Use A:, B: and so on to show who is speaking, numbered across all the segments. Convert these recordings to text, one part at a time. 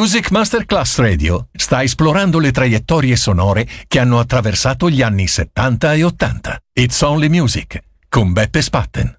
A: Music Masterclass Radio sta esplorando le traiettorie sonore che hanno attraversato gli anni 70 e 80. It's Only Music con Beppe Spatten.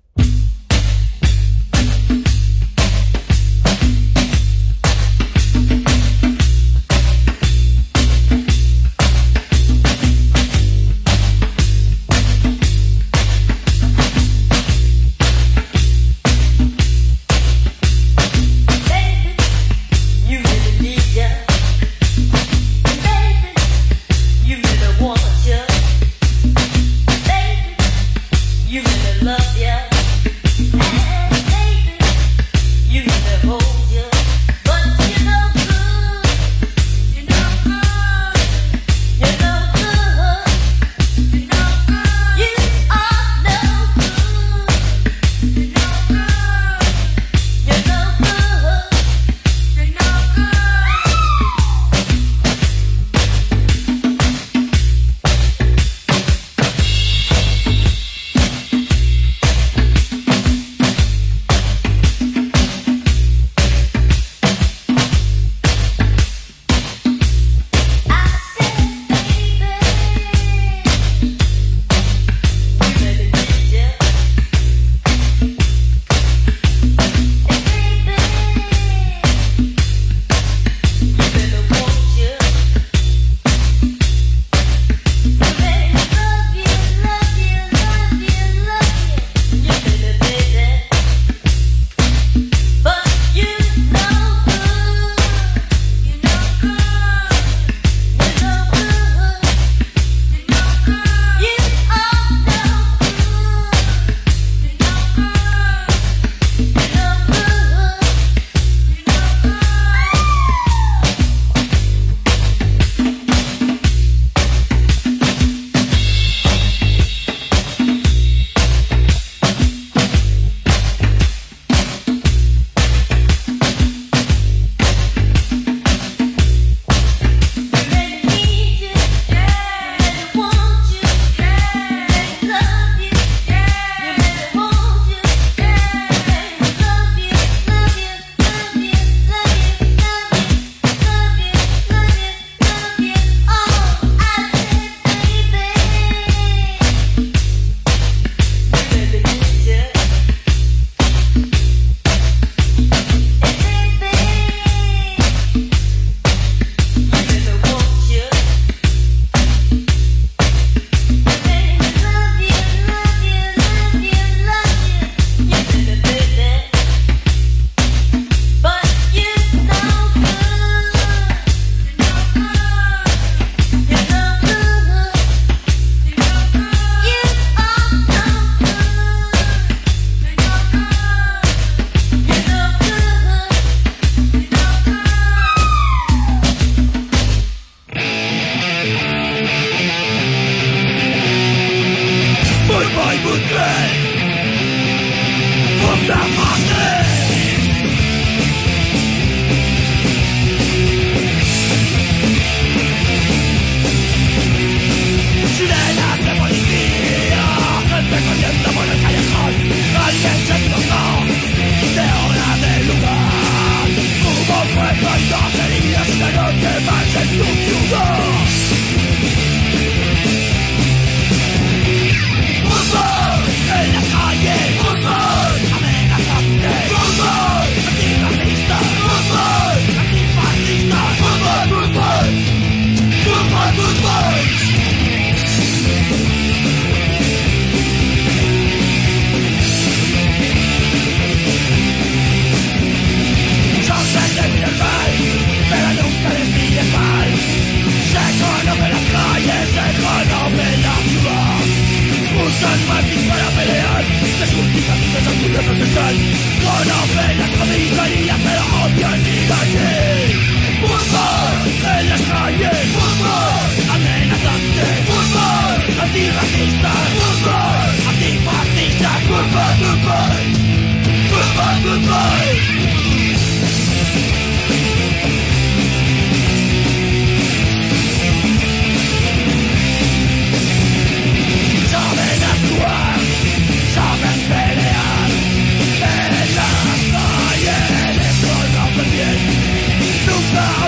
B: Nunca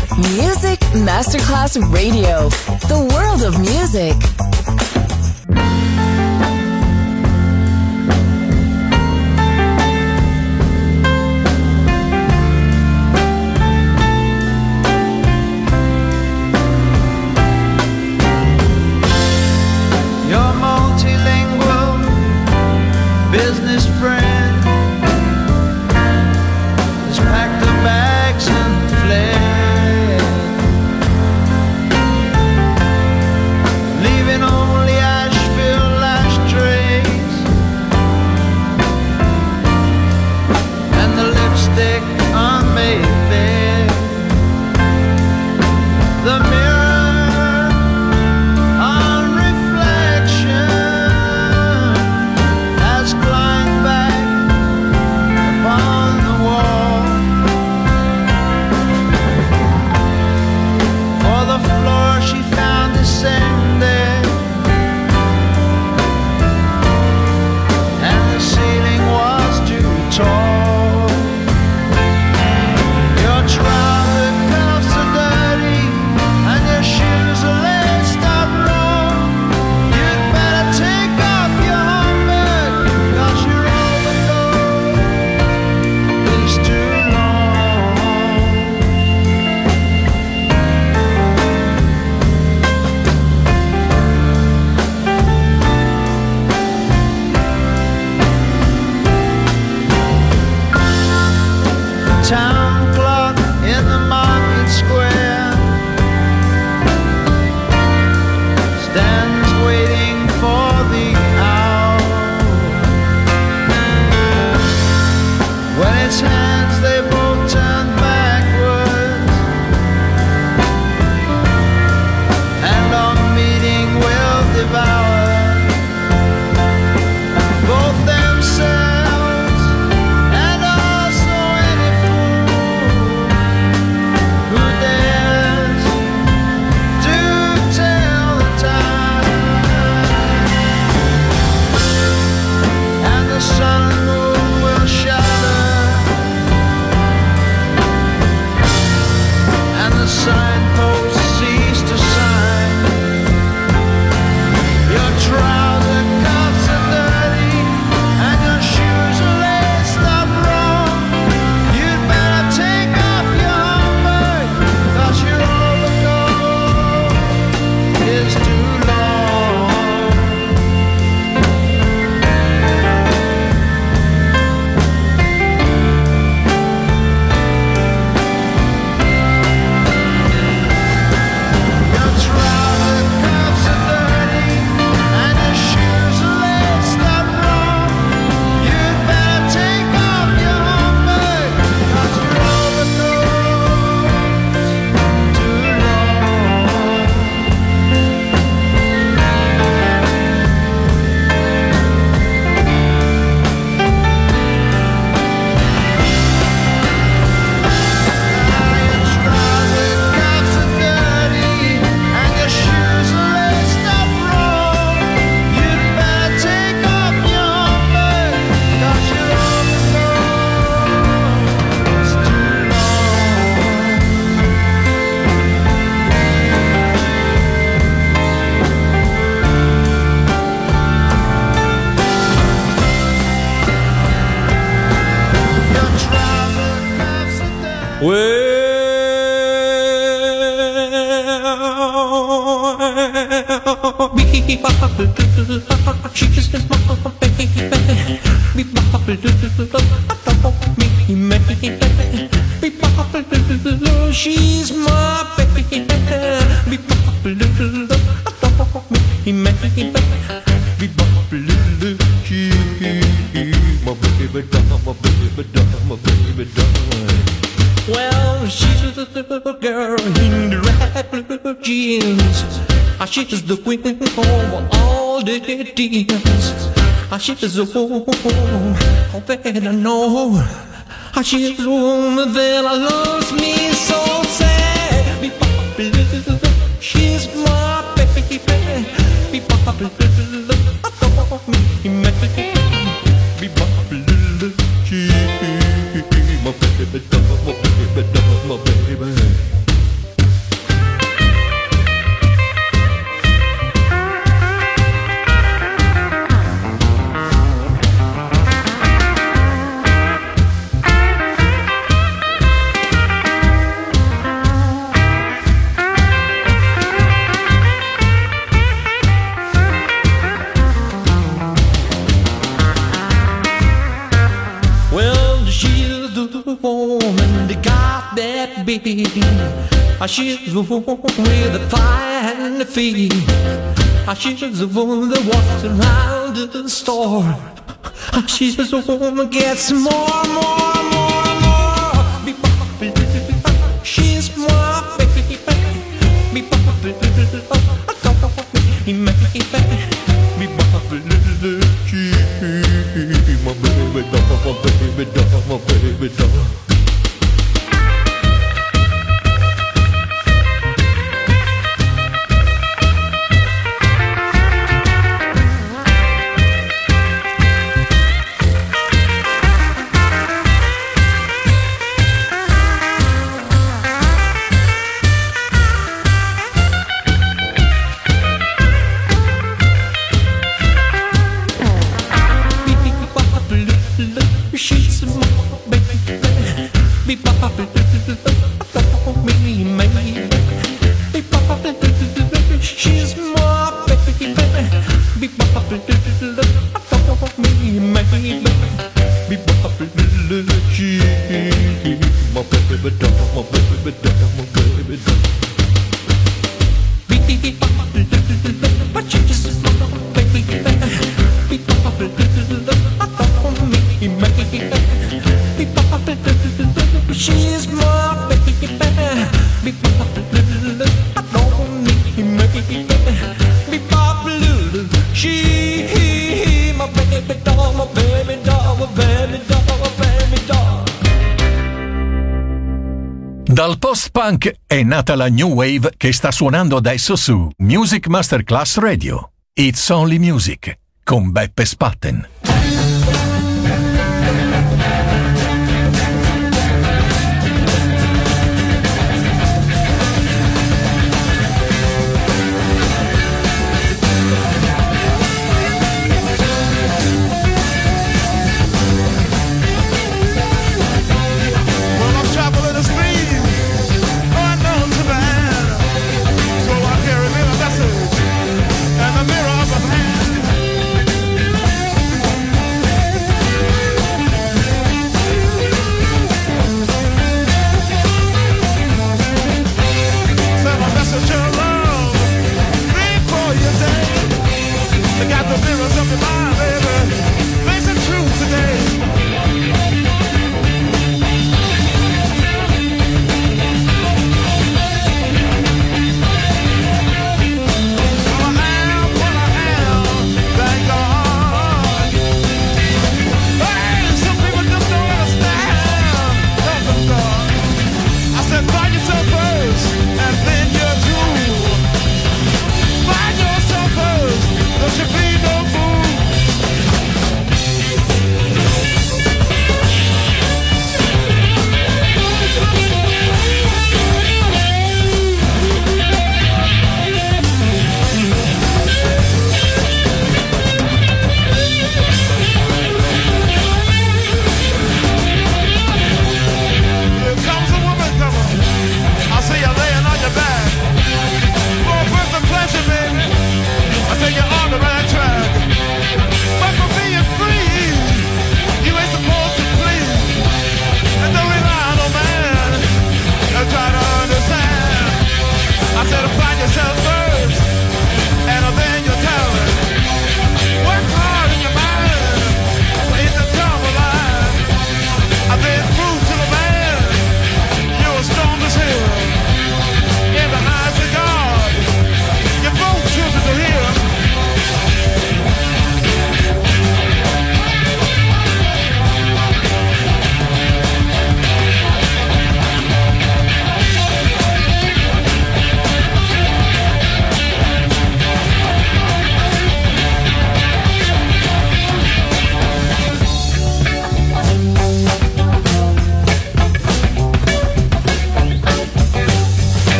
B: Music Masterclass Radio. The world of music.
C: Your multilingual business friend has packed the bags and fled, leaving only Asheville ashtrays and the lipstick on Mayfair. The mirror on reflection has climbed back upon the wall, for the floor she found descended, and the ceiling was too tall. Your trouser cuffs are dirty and your shoes are laced up wrong. You'd better take off your helmet, 'cause your overcoat is too long. The town clock in the market square stands waiting for the hour. When its hands they both turn backwards, and our meeting will devour both themselves and also any fool who dares to tell the time. And the sun and moon will shudder, and the signposts cease to sign. Your trouser cuffs are dirty and your shoes are laced up wrong. You'd better take off your helmet, 'cause your overcoat is too long. Your trouser cuffs are dirty and your shoes are laced up wrong. You'd better take off your helmet, 'cause your overcoat's too long. Your trouser cuffs are dirty and your shoes are laced up wrong. You'd better take off your helmet, 'cause your overcoat's too long. Your trouser cuffs are dirty.
D: Well, be popular, she's my baby. Be popular, don't me, man. Be popular, she's my baby. Be popular, don't me, man. Be popular, she's my baby, my baby, Well, she's a little girl in the red blue jeans. She's the queen over all the deals. She's the one that I know. She's the woman that loves me so sad. Be popular, she's my baby. Be popular, don't me, man. Be popular, she's my baby, my baby. be. She's the one with the fire and the feet. She's the one that walks around the store. She's the one that gets more. She's my baby. My baby doll. She's my baby.
A: Dal post-punk è nata la new wave che sta suonando adesso su Music Masterclass Radio. It's Only Music con Beppe Spatten.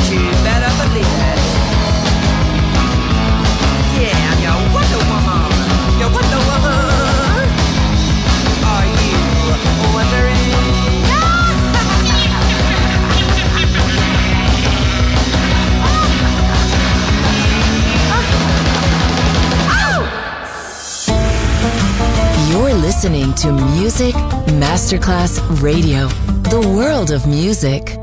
E: you better believe it. Yeah, I'm your Wonder Woman. Your Wonder Woman. Are you wondering?
B: You're listening to Music Masterclass Radio, the world of music.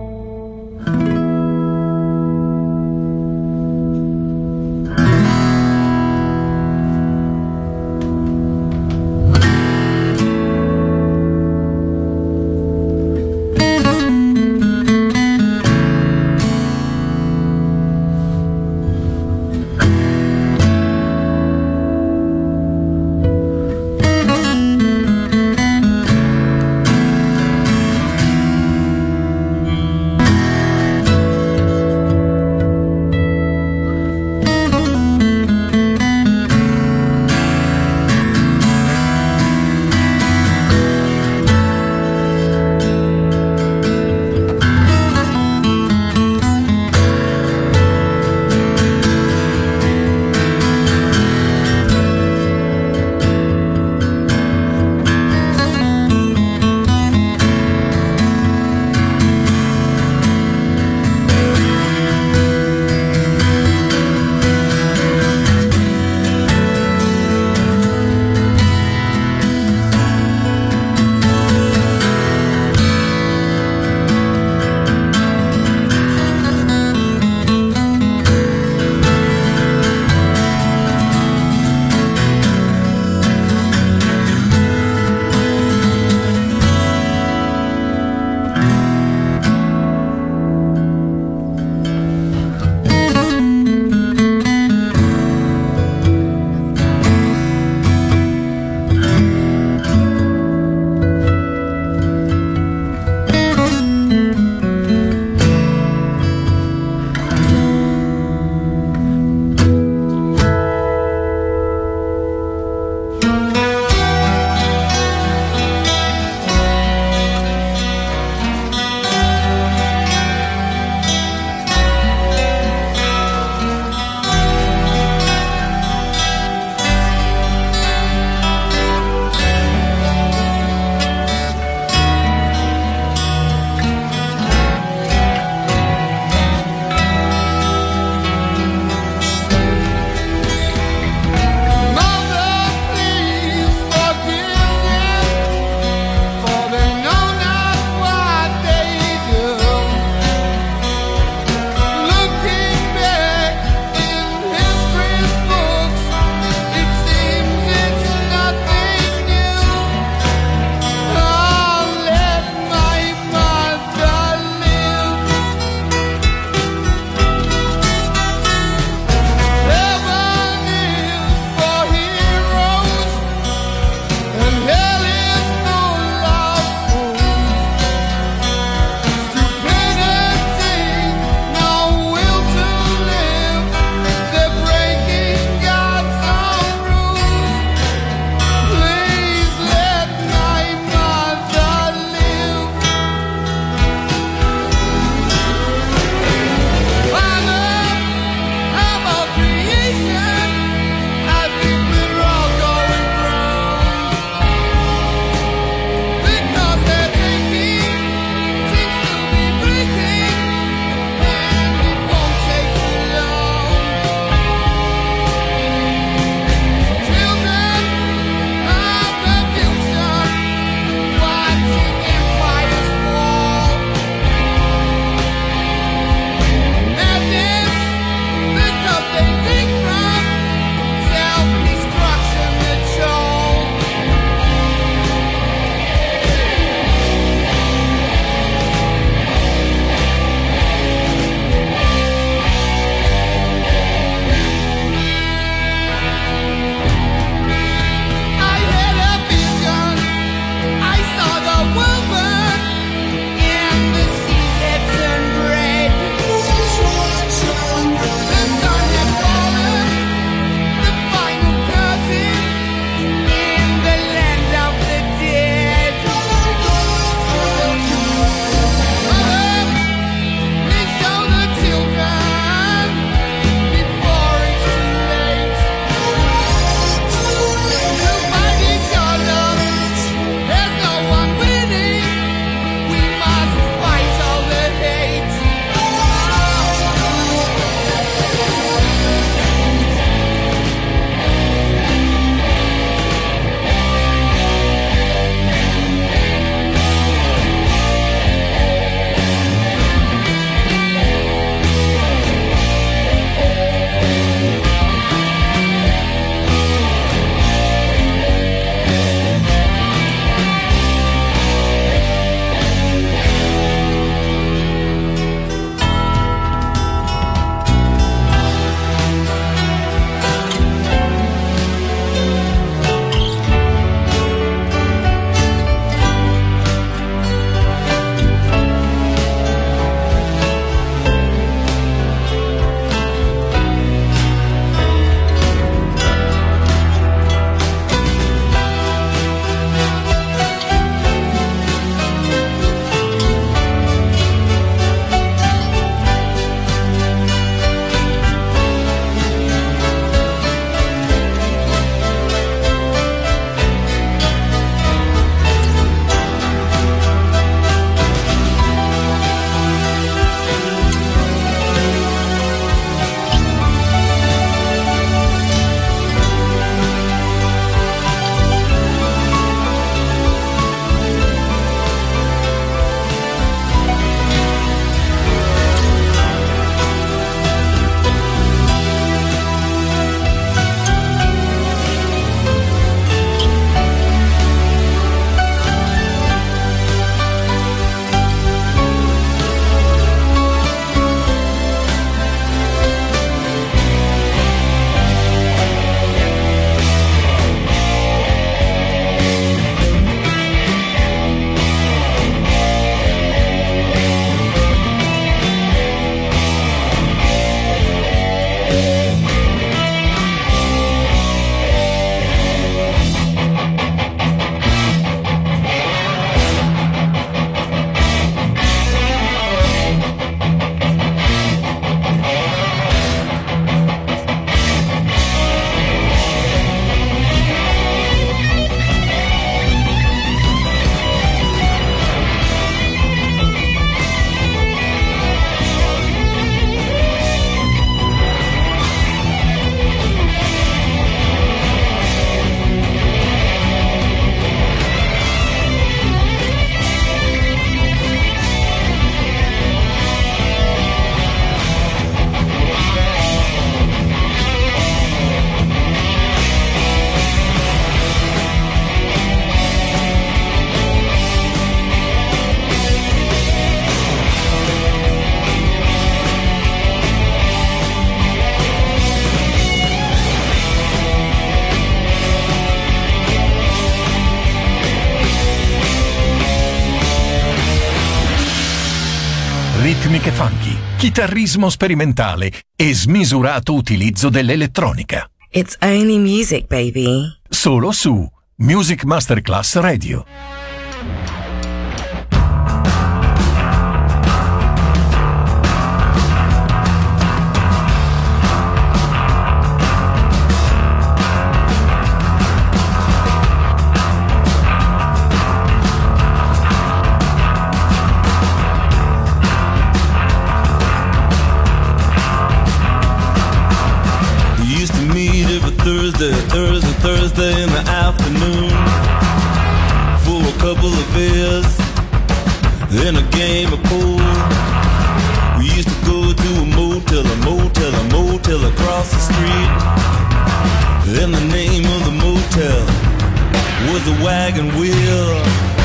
A: ritmiche funky, chitarrismo sperimentale e smisurato utilizzo dell'elettronica.
F: It's only music, baby.
A: Solo su Music Masterclass Radio.
G: Thursday in the afternoon for a couple of beers and a game of pool. We used to go to a motel across the street. And the name of the motel was the Wagon Wheel.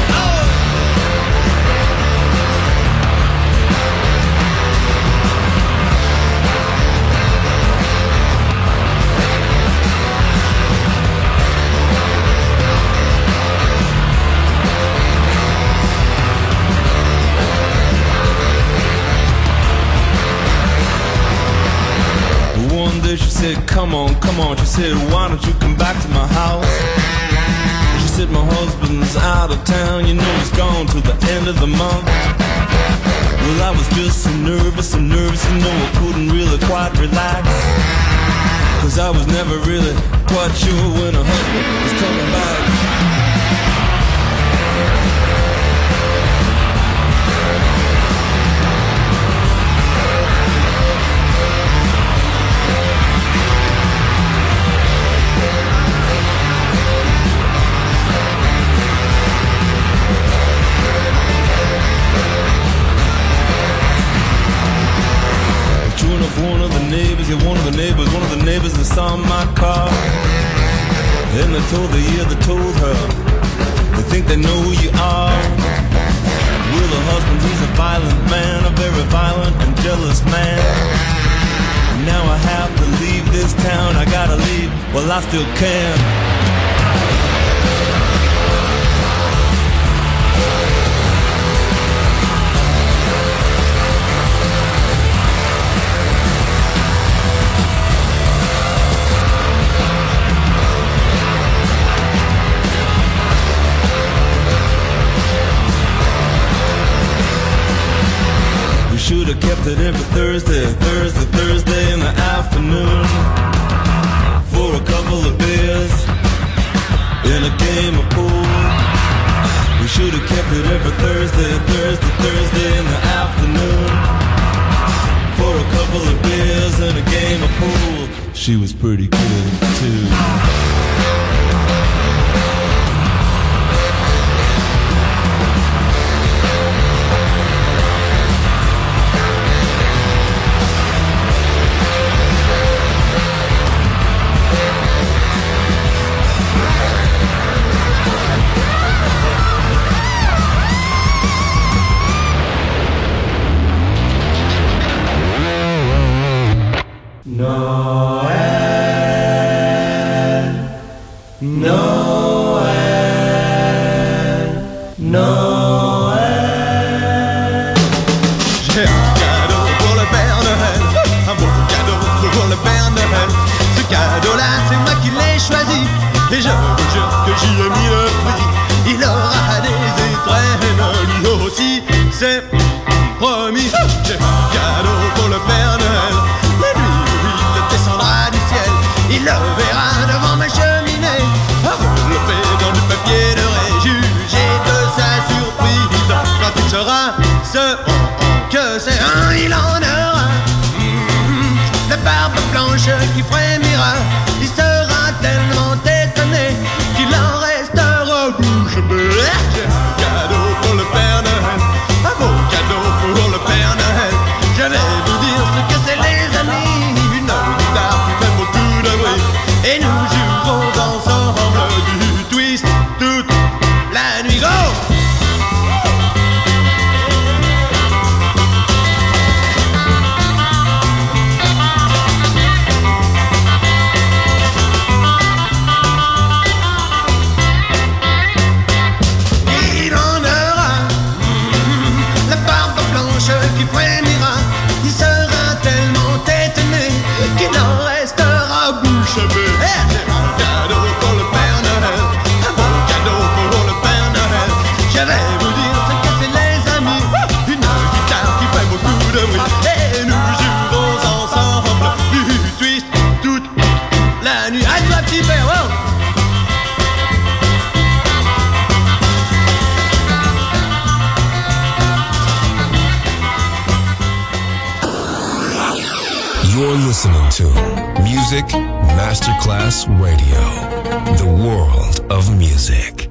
G: She said, come on. She said, why don't you come back to my house? She said, my husband's out of town. You know he's gone till the end of the month. Well, I was just so nervous. You know I couldn't really quite relax. Cause I was never really quite sure when her husband was coming back. One of the neighbors that saw my car. And they told her, they think they know who you are. Well, the husband, he's a violent man, a very violent and jealous man. Now I have to leave this town, I gotta leave, well I still can. Should have kept it every Thursday in the afternoon for a couple of beers and a game of pool. We should have kept it every Thursday in the afternoon for a couple of beers and a game of pool. She was pretty good too.
C: Et je vous jure que j'y ai mis le prix. Il aura des étrennes, lui aussi, c'est promis. J'ai un cadeau pour le Père Noël. La nuit où il descendra du ciel, il le verra devant ma cheminée, enveloppé dans du papier doré, jugé de sa surprise. Quand il sera ce que c'est un, il en aura la barbe blanche qui frémira. Il sera tellement étonné qu'il en restera bouche bée. J'ai un cadeau pour le Père Noël, un beau cadeau pour le Père Noël. Je vais vous dire ce que c'est les amis, une guitare qui fait beaucoup de bruit. Et nous jouerons ensemble du twist toute la nuit. Go!
H: You're listening to Music Masterclass Radio, the world of music.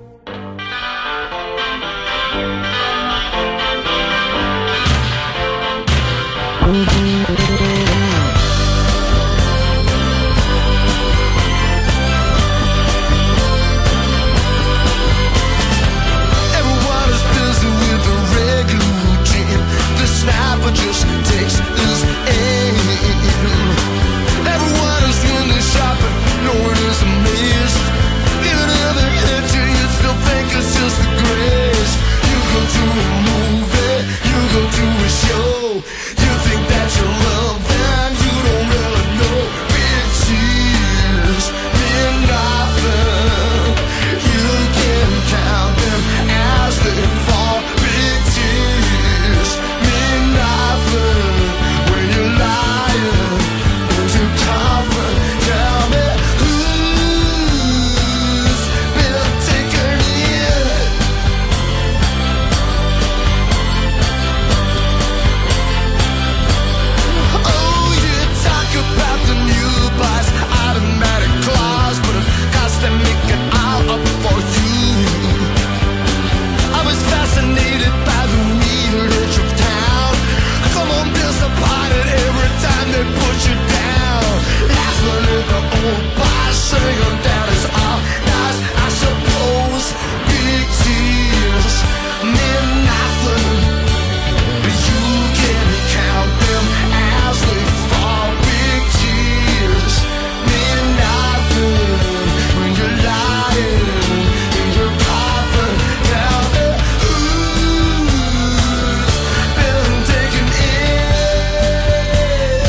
C: Everyone is busy with the regular routine. The sniper just takes his aim. Everyone is really shopping, no one is amazed. Even if they hit you, you still think it's just a grace. You go to a movie, you go to a show. You think that you love them, you don't really know. Big cheers mean nothing. You can count them as they fall. Big cheers mean nothing when you're lying into coffin. Tell me who's been taken in. Oh, you talk about the new bus, automatic claws, but of course they make it all up for you. I was fascinated by the weird edge of town. Come on, disappointed every time they put you down. Laughing at the old boss, singing down his all nice, I suppose. Big tears mean nothing. You can count them as they fall. Big tears mean nothing when you're lying in your coffin. Tell me who's been taken in.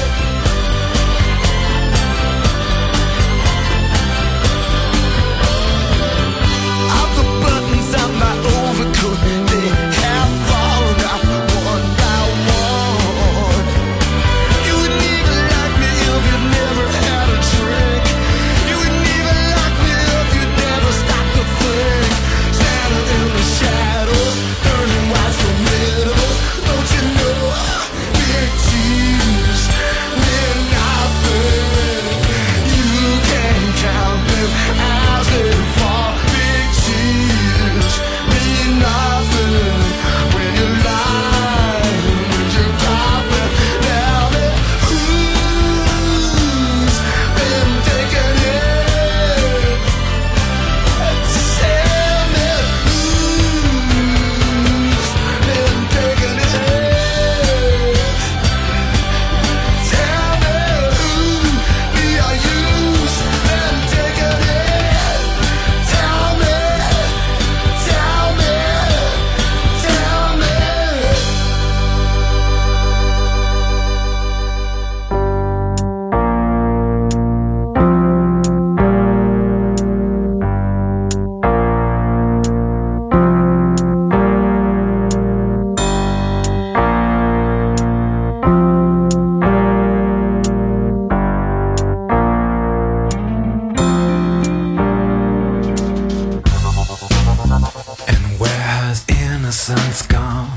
C: All the buttons on my overcoat, they have fallen off one by one. You wouldn't even like me if you never had a drink. You wouldn't even like me if you never stopped to think. Standing in the shadows, turning white for widows. Don't you know? Big tears mean nothing. You can count them as they fall. Big tears mean nothing when you're lying in your coffin. Tell me who's been taken in. Tell me who's been taken in. Tell me who are you's been taken in. Tell me, tell me, tell me.
I: And where has innocence gone?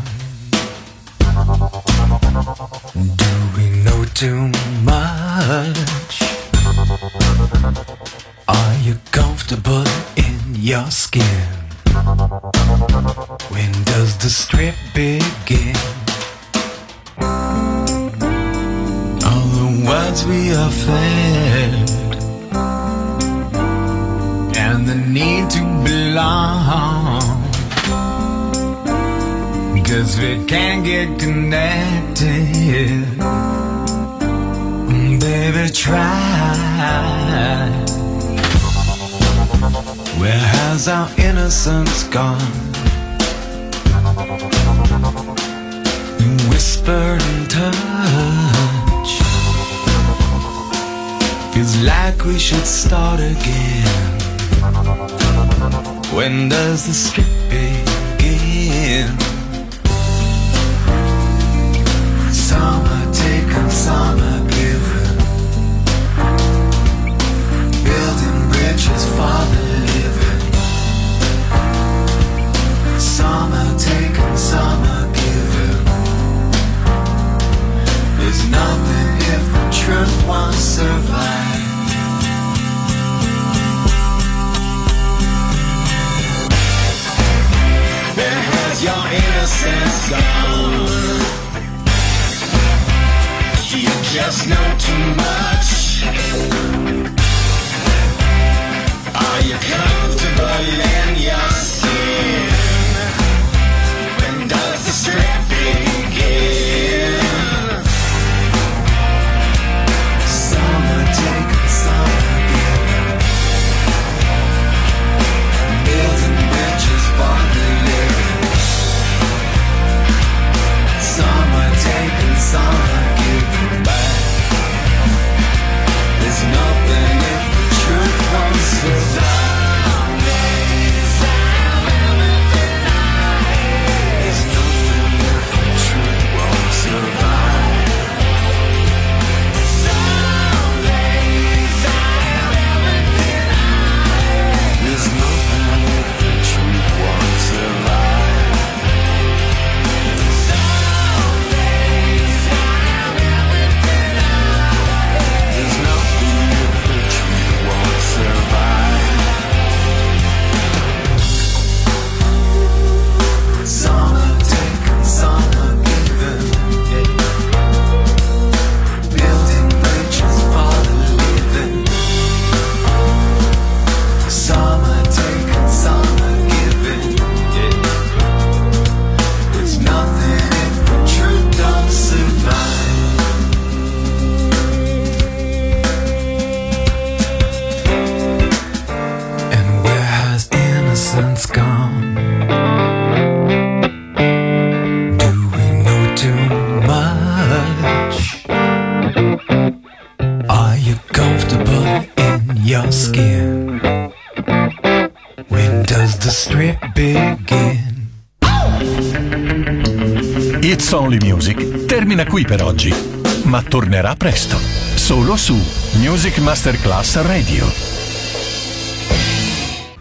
I: Do we know too much? Are you comfortable in your skin? When does the strip begin? All the words we are fed and the need to belong, 'cause we can't get connected. Baby, try. Where has our innocence gone? Whisper and touch. Feels like we should start again. When does the strip begin? Summer taken, summer given. Building bridges for the living. Summer taken, summer given. There's nothing if we There's no too much. Are you comfortable in your skin? When does the strip begin? Summer taken, summer given. Building bridges for the living. Summer taken, summer given back. There's nothing if the truth won't survive. There's nothing if the truth won't survive. There's nothing if the truth won't survive. There's nothing if the truth won't survive. Summer taken, summer given. Building bridges for the living. Summer taken, summer given. There's nothing if the truth don't survive. And where has innocence gone? Do we know too much? Are you comfortable in your skin? When does the strip begin?
A: It's Only Music termina qui per oggi, ma tornerà presto, solo su Music Masterclass Radio.